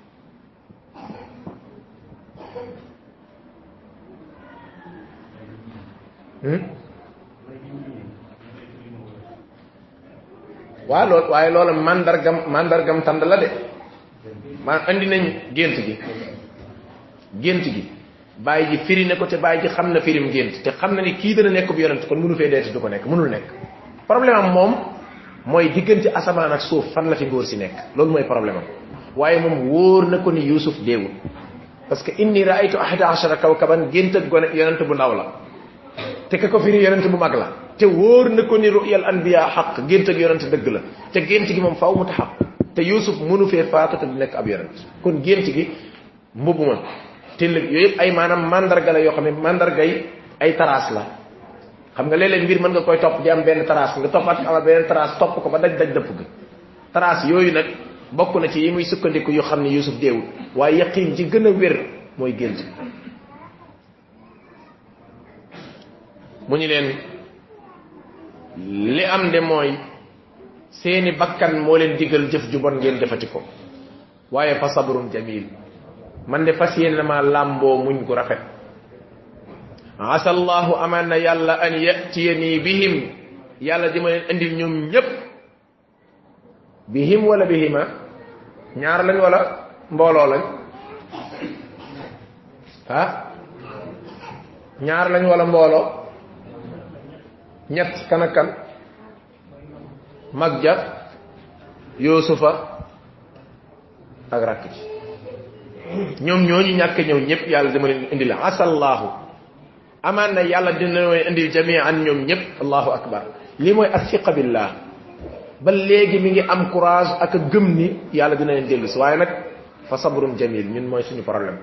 waa loolu waaye loola mandargam mandargam tànd la de maa andi nañ gént gi gént gi bàyyi ji firi ne ko te bàyyi ji xam na firim gént te xam na ni kii dana nekk bu yonent kon mënu fee deeti du ko nekk mënul nekk problème am moom mooy diggante asamaan ak suuf fan la fi góor si nekk loolu mooy problème am waaye moom wóor na ko ni yusuf deewul parce que inni raaytu ahada ashara kawkaban gént ak gone yonent bu ndaw la te ka ko firi yonent bu mag la te wóor na ko ni ru'yal anbiya xaq gént ak yonent dëgg la te gént gi moom faaw mu taxaq te yusuf mënu fee faatu te du nekk ab yonent kon gént gi mbubb ma te yooyu yëpp ay maanaam mandarga la yoo xam ne mandarga yi ay taraas la xam nga léeg-léeg mbir mën nga koy topp di am benn taraas nga toppaat amal beneen taraas topp ko ba daj daj dëpp ga taraas yooyu nag bokk na ci yi muy sukkandiku yoo xam ne yusuf deewul waaye yaqiin ji gën a wér mooy gént mu ñu leen li am de mooy seeni bakkan moo leen digal jëf ju bon ngeen defati ko waaye fa sabrun jamil man de fas yéene ma làmboo muñ gu rafet asa allahu aman na yàlla an yatiyani bihim yàlla di ma leen indil ñoom ñépp bihim wala bihima ñaar lañ wala mbooloo lañ ah ñaar lañ wala mbooloo ñett kan ak kan mag ja yusufa ak rakk ji ñoom ñooñu ñàkk ñëw ñëpp yàlla dama leen indi la asallahu amaan na yàlla dina leen indil jami'an ñoom ñëpp allahu akbar lii mooy asiqa billah ba léegi mi ngi am courage ak a gëm ni yàlla dina leen dellu si waaye nag fa sabrun jamil ñun mooy suñu problème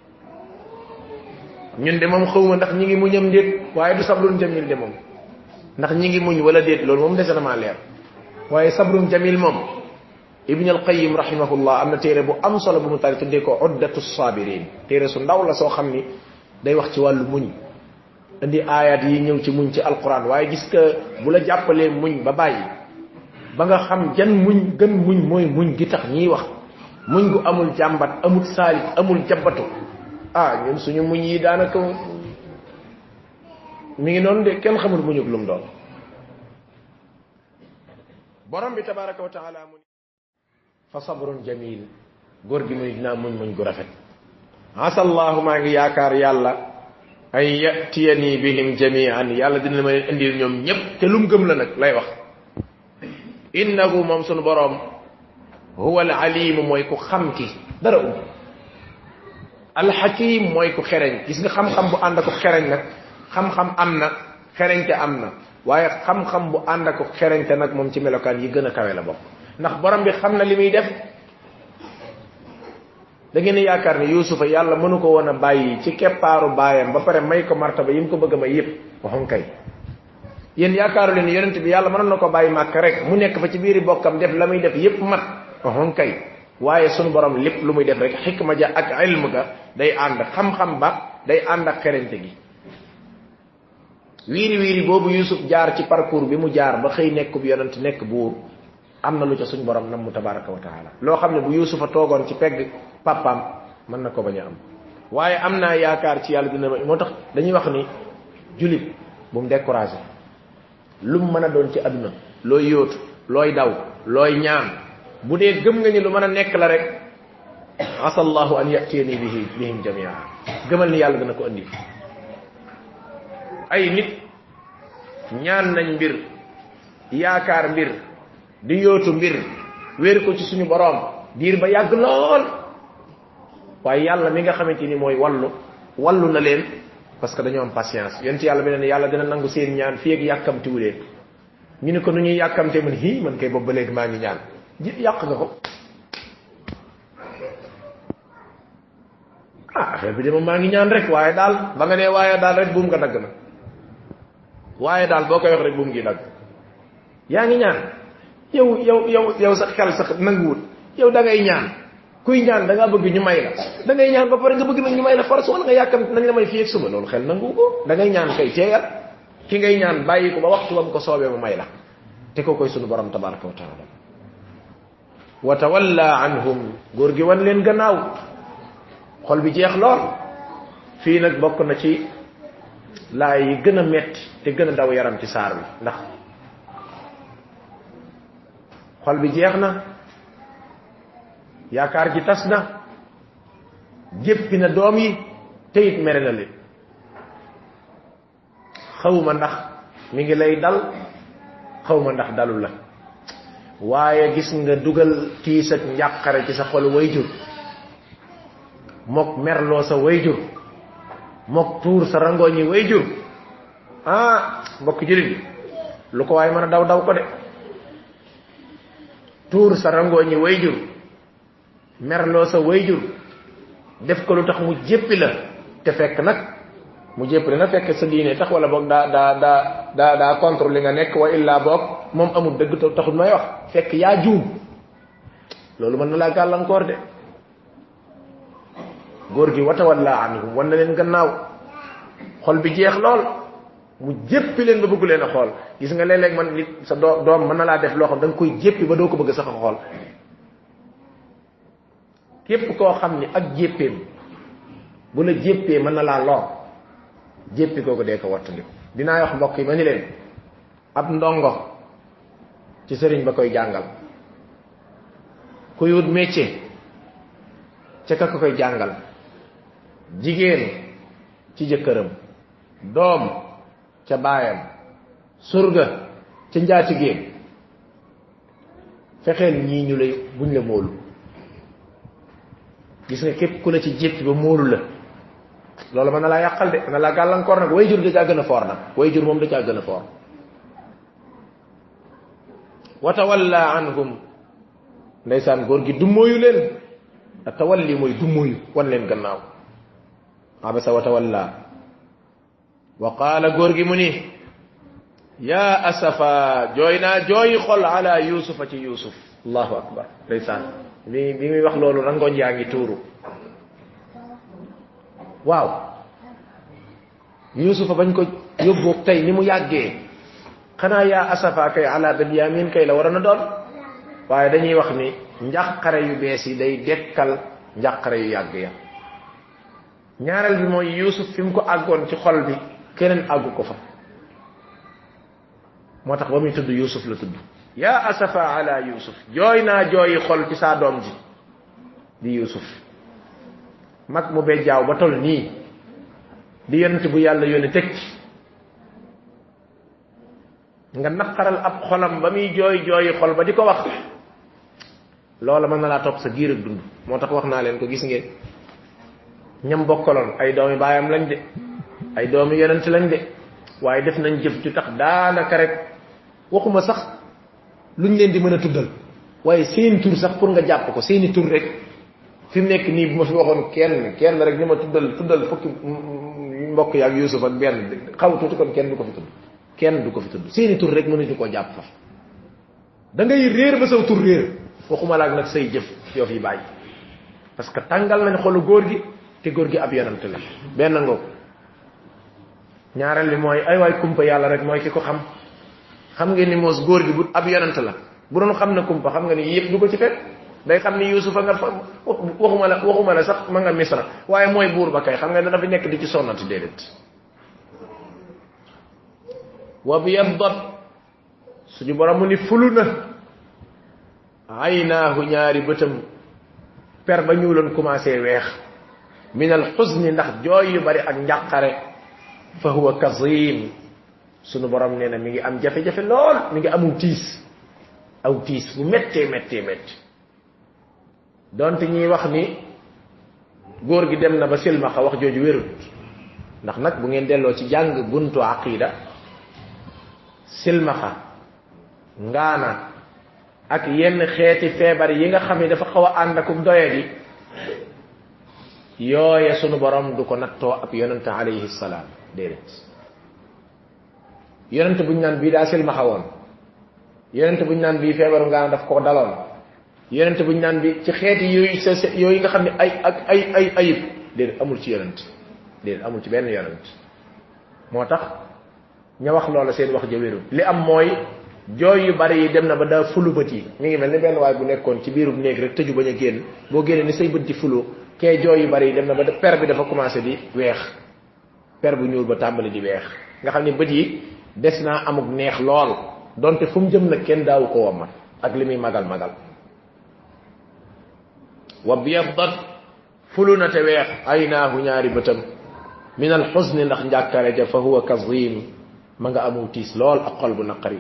ñun de moom xawma ndax ñi ngi muñam déet waaye du sabrun jamil de moom ndax ñi ngi muñ wala déet loolu moom dese na maa leer waaye sabrun jamil moom ibn al qayyim rahimahullah am na téere bu am solo bu mu tari tuddee ko uddatu sabirin téere su ndaw la soo xam ni day wax ci wàllu muñ indi ayat yi ñëw ci muñ ci alquran waaye gis nga bu la jàppalee muñ ba bàyyi ba nga xam jan muñ gën muñ mooy muñ gi tax ñiy wax muñ gu amul jàmbat amul saalit amul jabbatu ah ñun suñu muñ yi daanaka mi ngi noonu de kenn xamul muñug lum doon borom bi tabaraka wa taala mu fa sabrun jamil góor gi muy dinaa muñ muñ gu rafet asa allahu maa ngi yaakaar yàlla an yatiyani bihim jami'an yàlla dina ma leen indil ñoom ñépp te lum gëm la nag lay wax innahu moom sunu borom huwa al alim mooy ku xam ki dara um al hakim mooy ku xereñ gis nga xam-xam bu ànd ak xereñ nag xam-xam am na xereñte am na waaye xam-xam bu ànd ak xereñte nag moom ci melokaan yi gën a kawe la bokk ndax borom bi xam na li muy def da ngeen yaakaar ne yusufa yàlla mënu ko woon a bàyyi ci keppaaru baayam ba pare may ko martaba yi mu ko bëgg a may yépp waxoon kay yéen yaakaaru leen yonent bi yàlla mënoon na ko bàyyi màkk rek mu nekk fa ci biiri bokkam def la muy def yépp mat waxoon kay waaye sunu borom lépp lu muy def rek xikma ja ak ilm ga day ànd xam-xam ba day ànd ak xereñte gi wiiri wiiri boobu yusuf jaar ci parcours bi mu jaar ba xëy nekk bu yonent nekk buur am na lu ca suñ borom nam mu tabaraka wa taala loo xam ne bu yusufa toogoon ci pegg papaam mën na ko bañ a am waaye am naa yaakaar ci yàlla dina moo tax dañuy wax ni julit bu mu découragé lu mu mën a doon ci àdduna looy yóotu looy daw looy ñaan bu dee gëm nga ni lu mën a nekk la rek asallahu an yatiyani bihi bihim jamia gëmal ni yàlla dana ko andi ay nit ñaan nañ mbir yaakaar mbir di yóotu mbir wéer ko ci suñu borom diir ba yàgg lool waaye yàlla mi nga xamante ni mooy wallu wallu na leen parce que dañoo am patience yent yàlla bi ne yàlla dina nangu seen ñaan fii ak yàkkamti wu leen ñu ne ko nu ñuy yàkkamte man hi man kay boobu ba léegi maa ngi ñaan ji yàq nga ko ah affaire bi de moom maa ngi ñaan rek waaye daal ba nga nee waaye daal rek buum nga dagg na waaye daal boo koy wax rek buum ngi dagg yaa ngi ñaan yow yow yow yow sa xel sax nanguwul yow da ngay ñaan kuy ñaan da nga bëgg ñu may la da ngay ñaan ba pare nga bëgg nag ñu may la force wala nga yàkkam nañ la may fii ak suba loolu xel nangu ko da ngay ñaan kay teeyal ki ngay ñaan bàyyi ko ba waxtu bam ko soobee mu may la te ko koy sunu borom tabaraka wa taala wa tawalla anhum góor gi wan leen gannaaw xol bi jeex lool fii nag bokk na ci laay yi gën a metti te gën a daw yaram ci saar bi ndax xol bi jeex na yaakaar ji tas na jéppi na doom yi te it mere na leen xawma ndax mi ngi lay dal xawma ndax dalu la waaye gis nga dugal tiis ak njàqare ci sa xol wayjur mok merloo sa wayjur mok tuur sa rangooñi wayjur ah mbokk julit lu ko waaye mën a daw daw ko de tuur sa rangooñi wayjur merloo sa wayjur def ko lu tax mu jéppi la te fekk nag mu jéppi la na fekk sa diine tax wala boog daa daa daa daa daa contre li nga nekk wa illa boog moom amul dëgg taxul may wax fekk yaa juum loolu mën na laa gàllankoor de góor gi wata walla anhum wan na leen gannaaw xol bi jeex lool mu jéppi leen ba bëgg leen a xool gis nga léeg-léeg man nit sa doom mën na laa def loo xam da nga koy jéppi ba doo ko bëgg sax a xool képp koo xam ni ak jéppeem bu la jéppee mën na laa lor jéppi kooku dee ko wattandiku dinaa wax mbokk yi ma ni leen ab ndongo ci sëriñ ba koy jàngal kuy wut métier ca ka koy jàngal jigéen ci jëkkëram doom ca baayam surga ca njaatigéem fexeel ñii ñu lay buñ la móolu gis nga képp ku la ci jéppi ba móolu la loolu mën na laa yàqal de mën na laa gàllankoor nag way jur da caa gën a foor nag way jur moom da caa gën a foor wa tawalla anhum ndeysaan góor gi dummóoyu leen a tawalli mooy dummóoyu wan leen gannaaw abasa wa tawalla wa qaala góor gi mu ni yaa asafa jooy naa jooyi xol ala yusufa ci yusuf allahu akbar ndeysaan bi bi muy wax loolu rangoñ yaa ngi tuuru waaw yusufa bañ ko yóbbu tey ni mu yàggee xanaa yaa asafa kay ala benyamin kay la waroon a doon waaye dañuy wax ni njàqare yu bees yi day dekkal njàqare yu yàgg ya ñaareel bi mooy yusuf fi mu ko àggoon ci xol bi keneen àggu ko fa moo tax ba muy tudd yusuf la tudd yaa asafa ala yusuf jooy naa jooyi xol ci saa doom ji di yusuf mag mu bee jaaw ba tol nii di yonent bu yàlla yónni teg ci nga naqaral ab xolam ba muy jooy jooyi xol ba di ko wax loola mën na laa topp sa giir ak dund moo tax wax naa leen ko gis ngeen ñam bokkaloon ay doomi baayam lañ de ay doomi yonent lañ de waaye def nañ jëf ju tax daanaka rek waxuma sax luñ leen di mën a tuddal waaye seen tur sax pour nga jàpp ko seeni tur rek fi mu nekk nii bu ma fi waxoon kenn kenn rek ni ma tuddal tuddal fukki mbokk yaak Yuusuf ak benn xaw tuuti kon kenn du ko fi tudd kenn du ko fi tudd seeni tur rek mënuñu koo jàpp fa da ngay réer ba saw tur réer waxuma laak nag say jëf yoo fi bàyyi parce que tàngal nañ xolu góor gi te góor gi ab yonent la benn ngoog ñaareel bi mooy ay waay kumpa yàlla rek mooy ki ko xam xam ngeen ni moos góor gi bu ab yonent la bu doon xam na kumpa xam nga ni yëpp du ko ci fekk day xam ni yusufa nga fa waxuma la waxuma la sax ma nga misra waaye mooy buur ba kay xam nga dana fi nekk di ci sonnati déedéet wa biyaddat suñu borom mu ni fulu na aynaahu ñaari bëtam per ba ñuuloon commencé weex min al xuzni ndax jooy yu bari ak njàqare fa huwa kazim sunu borom nee na mi ngi am jafe-jafe lool mi ngi amul tiis aw tiis bu méttee méttee métti donte ñuy wax ni góor gi dem na ba silmaxa wax jooju wérut ndax nag bu ngeen delloo ci jàng buntu aqida silmaxa ngaana ak yenn xeeti feebar yi nga xam ne dafa xaw a ànd ak doyadi yooye sunu borom du ko nattoo ab yonente alayhi salaam déedéet yonente buñ naan bii daa silmaxa woon yonente buñ naan bii feebaru ngaana daf ko daloon yonente buñ naan bi ci xeeti yooyu sa yooyu nga xam ne ay ak ay ay ayib déedéet amul ci yonente déedéet amul ci benn yonente moo tax ña wax loola seen wax ja wérul li am mooy jooy yu bari yi dem na ba daa fulu bët yi mi ngi mel ni benn waay bu nekkoon ci biirub néeg rek tëju bañ a génn boo génnee ni say bët di fulu kee jooy yu bari yi dem na ba per bi dafa commencé di weex per bu ñuul ba tàmbali di weex nga xam ne bët yi des naa amuk neex lool donte fu mu jëm nag kenn daawu ko wammat ak li muy magal magal wa biyaddat fulu na te weex aynaahu ñaari bëtam min al xuzni ndax njàkkare ja fa huwa kazim ma nga amul tiis lool ak xol bu naqari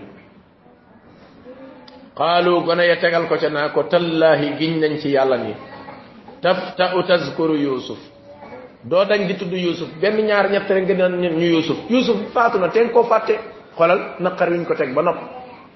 qaalu gone ya tegal ko ca naa ko tallaahi giñ nañ ci yàlla ni taftau tazkuru yusuf doo dañ di tudd yusuf benn ñaar ñett rek nga naan ñu yusuf yusuf faatu na teen koo fàtte xolal naqar wiñ ko teg ba nopp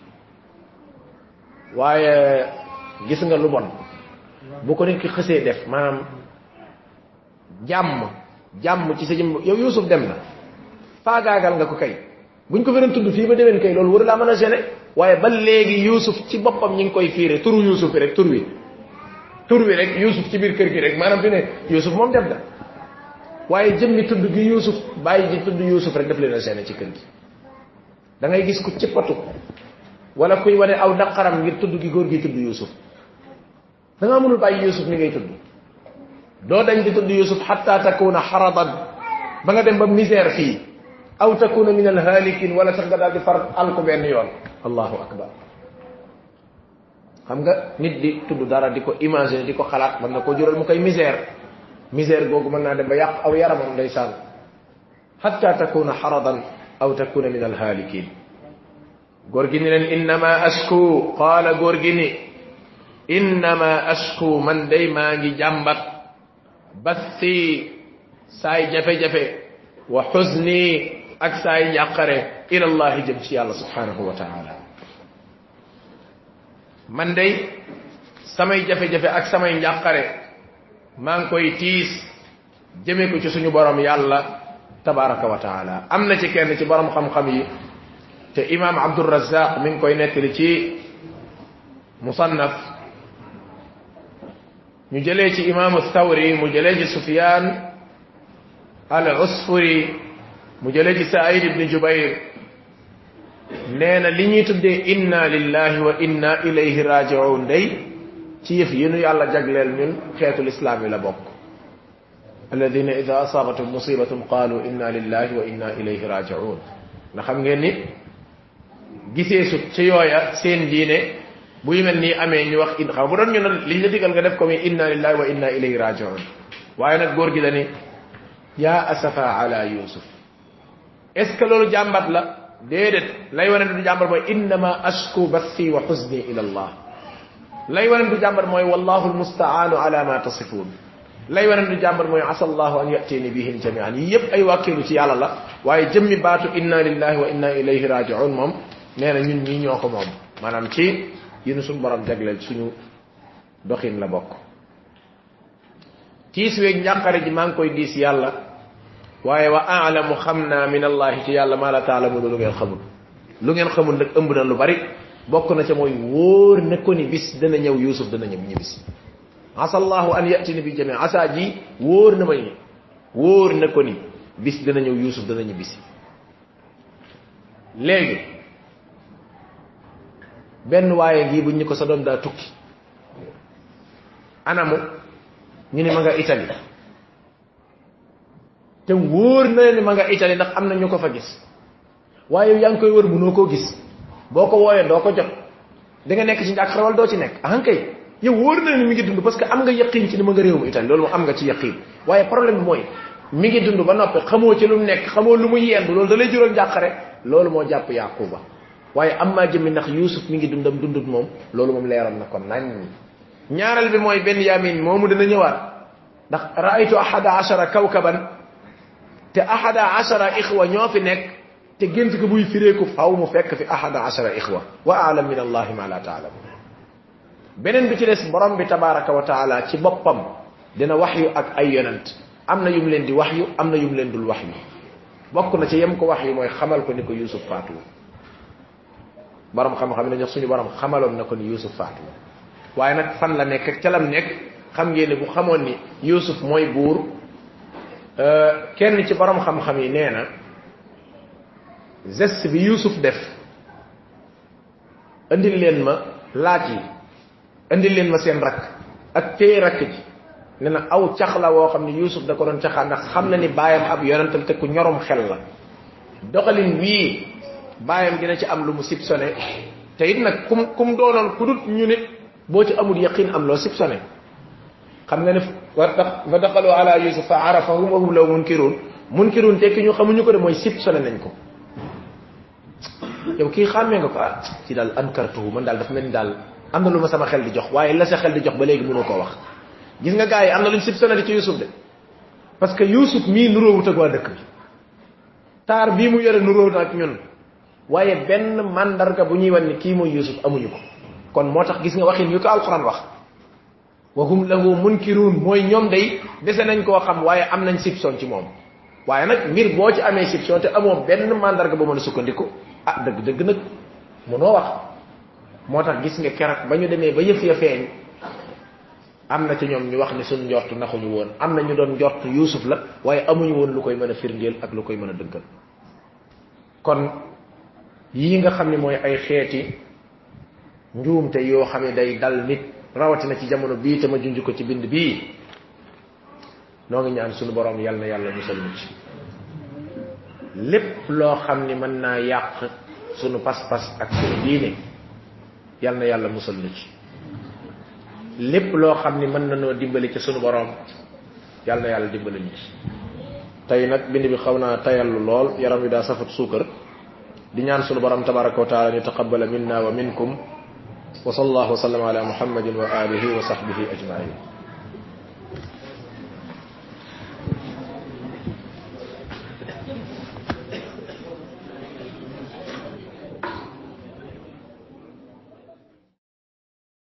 waaye gis nga lu bon bu ko nit ki xësee def maanaam jàmm jàmm ci sa jëm yow yusuf dem na faagaagal nga ko kay buñ ko feren tudd fii ba déwén kay loolu waru laa mën a gêner waaye ba léegi yusuf ci boppam ñi ngi koy fiire turu yusuf bi rek tur wi tur wi rek yusuf ci biir kër gi rek maanaam fi ne yusuf moom dem na waaye jëmmi tudd gi yusuf bàyyi ji tudd yusuf rek daf leen a seene ci kër gi da ngay gis ku cippatu wala kuy wane aw naqaram ngir tudd gi góor gi tudd yusuf da nga mënul bàyyi yusuf ni ngay tudd doo dañ di tudd yusuf hatta takuna haradan ba nga dem ba misère fii aw takuna min alhalikin wala sax nga daal di far alku benn yoon allahu akbar xam nga nit di tudd dara di ko imaginer di ko xalaat mën na ko jural mu koy misère misère googu mën naa dem ba yàq aw yaramam ndeysaan hatta takuna haradan aw takuna min alhalikin góor gi ni leen innama ashku qaala góor gi ni innama ashku man day maa ngi jàmbat bathi saay jafe-jafe wa xuzni ak saay njàqare ila allahi jëm ci yàlla subhanahu wa taala man day samay jafe-jafe ak samay njàqare maa ngi koy tiis jëme ko ci suñu borom yàlla tabaraka wa taala am na ci kenn ci borom xam-xam yi te imam abdurrazzaq mi ngi koy nettali ci musannaf ñu jëlee ci imam thawri mu jëlee ci sufyan al usfuri mu jëlee ci sa'id ibn jubayr nee na li ñuy tuddee inna lillahi wa inna ilayhi raji'un day ci yëf yi nu yàlla jagleel ñun xeetul islam yi la bokk alladina ida asabatum musibatun qalu inna lillahi wa inna ilayhi raji'un na xam ngeen ni gisee su ci yooya seen diine buy mel nii amee ñu wax in xam bu doon ñu ne liñ la digal nga def ko mi inna lillahi wa inna ilayhi raji'un waaye nag góor gi dani yaa asafa ala yusuf est ce que loolu jàmbat la déedéet lay wane du jàmbat mooy innama ashku bathi wa huzni ila allah lay wane du jàmbat mooy wallahu almusta'anu ala ma tasifun lay wane du jàmbat mooy asa allahu an yatini bihim jami'an yi yépp ay wàkkeelu ci yàlla la waaye jëmmi baatu inna lillahi wa inna ilayhi raji'un moom nee na ñun ñii ñoo ko moom maanaam ci yéen suñu borom jagleel suñu doxin la bokk tiis weeg njàqare ji maa ngi koy diis yàlla waaye wa a'lamu xam naa min allahi ci yàlla maa la taalamu lu ngeen xamul lu ngeen xamul nag ëmb na lu bari bokk na ca mooy wóor na ko ni bis dana ñëw yusuf dana ñëw ñibis asa allahu an yatini bi jami asa ji wóor na ma ni wóor na ko ni bis dana ñëw yusuf dana ñibisi léegi benn waaye ngi bu ñu ko sa doom daa tukki anamu ñu ni ma nga Italie te wóor na ni ma nga Italie ndax am na ñu ko fa gis waaye yaa ngi koy wër mënoo koo gis boo ko wooyee doo ko jot da nga nekk ci njàq xaral doo ci nekk ah kay yow wóor na ni mi ngi dund parce que am nga yaqin ci ni ma nga réewum Italie loolu moom am nga ci yaqin waaye problème bi mooy mi ngi dund ba noppi xamoo ci lu mu nekk xamoo lu mu yendu loolu da lay jural njàqare loolu moo jàpp yaquba waaye am maa jëmmi ndax yusuf mi ngi dundam dundut moom loolu moom leeral na kon nañ ñaaral bi mooy benn yamin moomu dana ñëwaat ndax raaytu ahada ashara kawkaban te ahada ashara ixwa ñoo fi nekk te gént ko buy fireeku faw mu fekk fi ahada ashara ixwa wa a'lam min allahi ma la ta'lamu beneen bi ci des borom bi tabaraka wa taala ci boppam dina waxyu ak ay yonent am na yum leen di waxyu am na yum leen dul waxyu bokk na ci yem ko waxyu mooy xamal ko ni ko yusuf faatu borom xam-xam ne ñox suñu borom xamaloon na ko ni yusuf faatu waaye nag fan la nekk ak ca lam nekk xam ngeen ne bu xamoon ni yusuf mooy buur kenn ci borom xam-xam yi nee na geste bi yusuf def andil leen ma laaj yi andil leen ma seen rakk ak téye rakk ji nee na aw cax la woo xam ne yusuf da ko doon caxaa ndax xam na ni baayam ab yonentam te ku ñorom xel la doxalin wii baayam dina ci am lu mu sipsone te it nag kum kum doonoon ku dut ñu nit boo ci amul yaqin am loo sipsone xam nga ne fa daxalu ala yusuf fa arafahum wa hum law munkirun munkirun tekki ñu xamuñu ko de mooy sipsone nañ ko yow kii xàmmee nga ko ah ci daal ankartuhu man daal dafa mel ni daal am na lu ma sama xel di jox waaye la sa xel di jox ba léegi mënoo koo wax gis nga gars yi am na luñ sipsone ci yusuf de parce que yusuf mii nuróowut ak waa dëkk bi taar bii mu yore nuróow na ak ñun waaye benn mandarga bu ñuy wan ni kii mooy yusuf amuñu ko kon moo tax gis nga waxin yu ko alquran wax wa hum lahu munkirun mooy ñoom day dese nañ koo xam waaye am nañ sipson ci moom waaye nag mbir boo ci amee sipson te amoo benn mandarga bu mën a sukkandiku ah dëgg dëgg nag mënoo wax moo tax gis nga keroog ba ñu demee ba yëf ya feeñ am na ci ñoom ñu wax ni suñ njort naxuñu woon am na ñu doon njort Yuusuf la waaye amuñu woon lu koy mën a firndeel ak lu koy mën a dëggal kon yii nga xam ne mooy ay xeeti njuumte yoo xam ne day dal nit rawatina ci jamono bii te ma junj ko ci bind bii noo ngi ñaan suñu borom yal na yàlla musal ñu ci lépp loo xam ni mën naa yàq sunu pas-pas ak sunu diine yal na yàlla musal ñu ci lépp loo xam ni mën na noo dimbali ci sunu borom yal na yàlla dimbali ñu ci tey nag bind bi xaw naa tayallu lool yaram wi daa safat suukar di ñaan sunu borom tabaraka wa taala ni taqabbala minna wa minkum wa sallallahu wa sallam ala muhammadin wa alihi wa sahbihi ajmain